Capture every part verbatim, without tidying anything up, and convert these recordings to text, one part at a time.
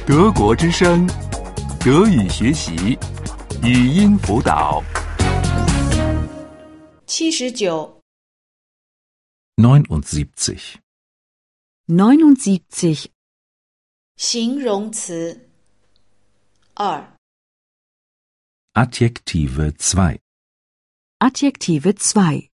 德国之声，德语学习，语音辅导。 七十九。 neunundsiebzig. neunundsiebzig. 形容词二。 Adjektive zwei. Adjektive zwei.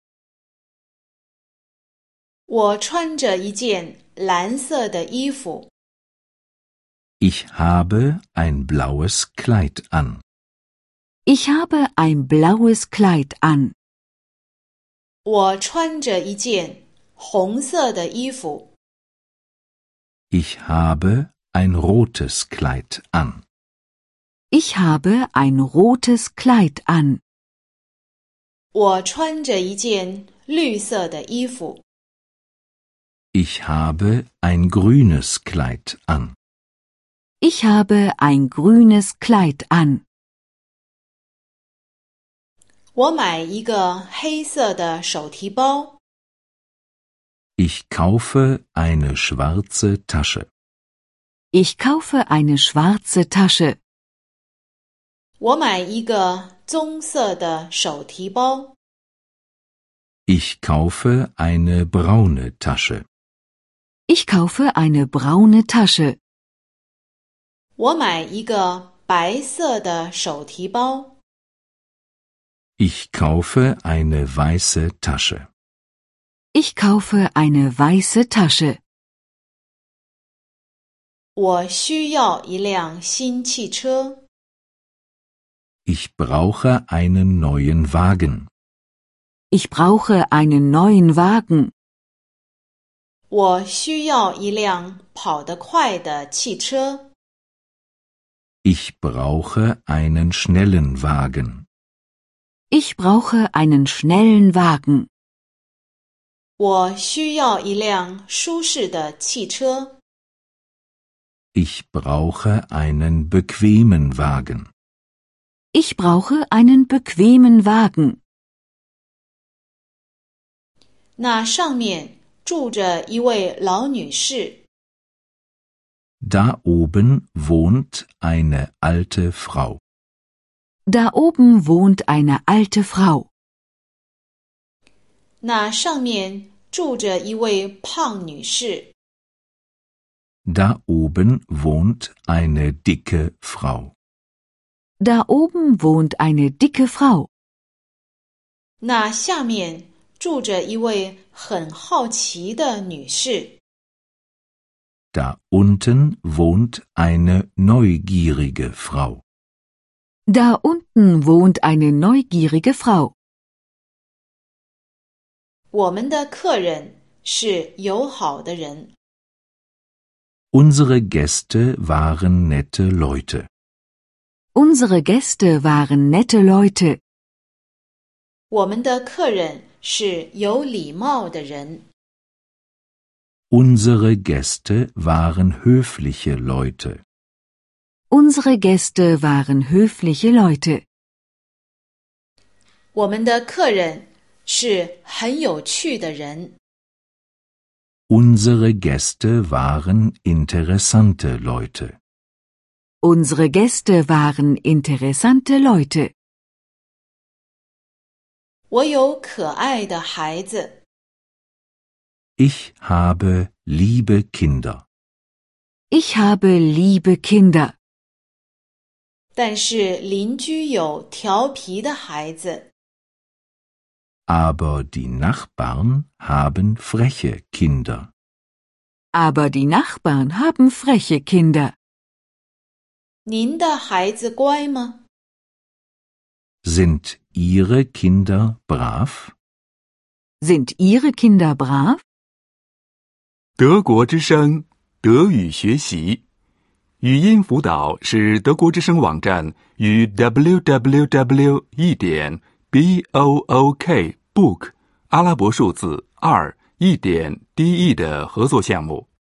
我穿着一件蓝色的衣服。 Ich habe ein blaues Kleid an. Ich habe ein blaues Kleid an. 我穿着一件红色的衣服。 Ich habe ein rotes Kleid an. Ich habe ein rotes Kleid an. 我穿着一件绿色的衣服。 Ich habe ein grünes Kleid an. Ich habe ein grünes Kleid an. 我买一个黑色的手提包。 Ich kaufe eine schwarze Tasche. Ich kaufe eine schwarze Tasche. 我买一个棕色的手提包。 Ich kaufe eine braune Tasche. Ich kaufe eine braune Tasche. 我买一个白色的手提包。 Ich kaufe eine weiße Tasche. Ich kaufe eine weiße Tasche. 我需要一辆新汽车。 Ich brauche einen neuen Wagen. Ich brauche einen neuen Wagen. 我需要一辆跑得快的汽车。 Ich brauche einen schnellen Wagen. Ich brauche einen schnellen Wagen. 我需要一辆舒适的汽车。 Ich brauche einen bequemen Wagen. Ich brauche einen bequemen Wagen. 那上面住着一位老女士。 Da oben wohnt eine alte Frau. Da oben wohnt eine alte Frau. 那上面住着一位胖女士。 Da oben wohnt eine dicke Frau. Da oben wohnt eine dicke Frau. 那下面住着一位很好奇的女士。 Da unten wohnt eine neugierige Frau. Da unten wohnt eine neugierige Frau. 我们的客人是友好的人。 Unsere Gäste waren nette Leute. Unsere Gäste waren nette Leute. 我们的客人是有礼貌的人。 Unsere Gäste waren höfliche Leute. Unsere Gäste waren höfliche Leute. 我们的客人是很有趣的人。 Unsere Gäste waren interessante Leute. Unsere Gäste waren interessante Leute. 我有可爱的孩子。 Ich habe liebe Kinder. Ich habe liebe Kinder. 但是邻居有调皮的孩子。 Aber die Nachbarn haben freche Kinder. Aber die Nachbarn haben freche Kinder. 您的孩子乖吗？ Sind Ihre Kinder brav? Sind Ihre Kinder brav? 德国之声，德语学习，语音辅导是德国之声网站与 double-u double-u double-u 一点 b o o k book 阿拉伯数字二一点 d e 的合作项目。